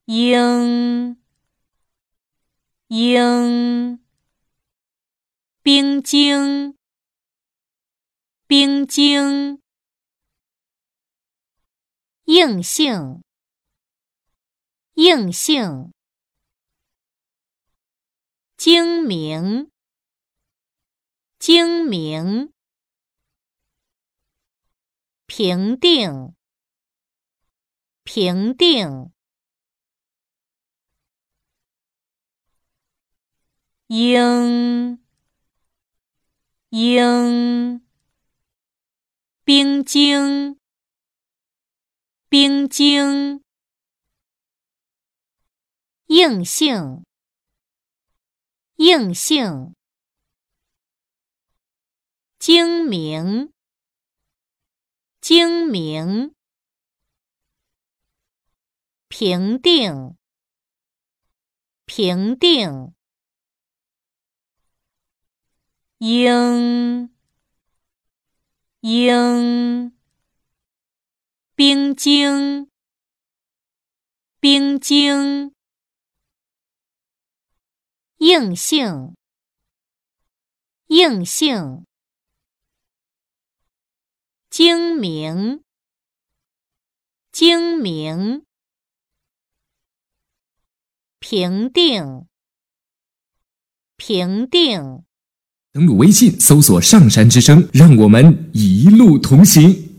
应，应，冰晶，冰晶，硬性，硬性，精明，精明，平定，平定，应，应，冰晶，冰晶，硬性，硬性，精明，精明，平定，平定，应，应，冰晶，冰晶，硬性，硬性，精明，精明，平定，平定。 登录微信搜索上山之声，让我们一路同行。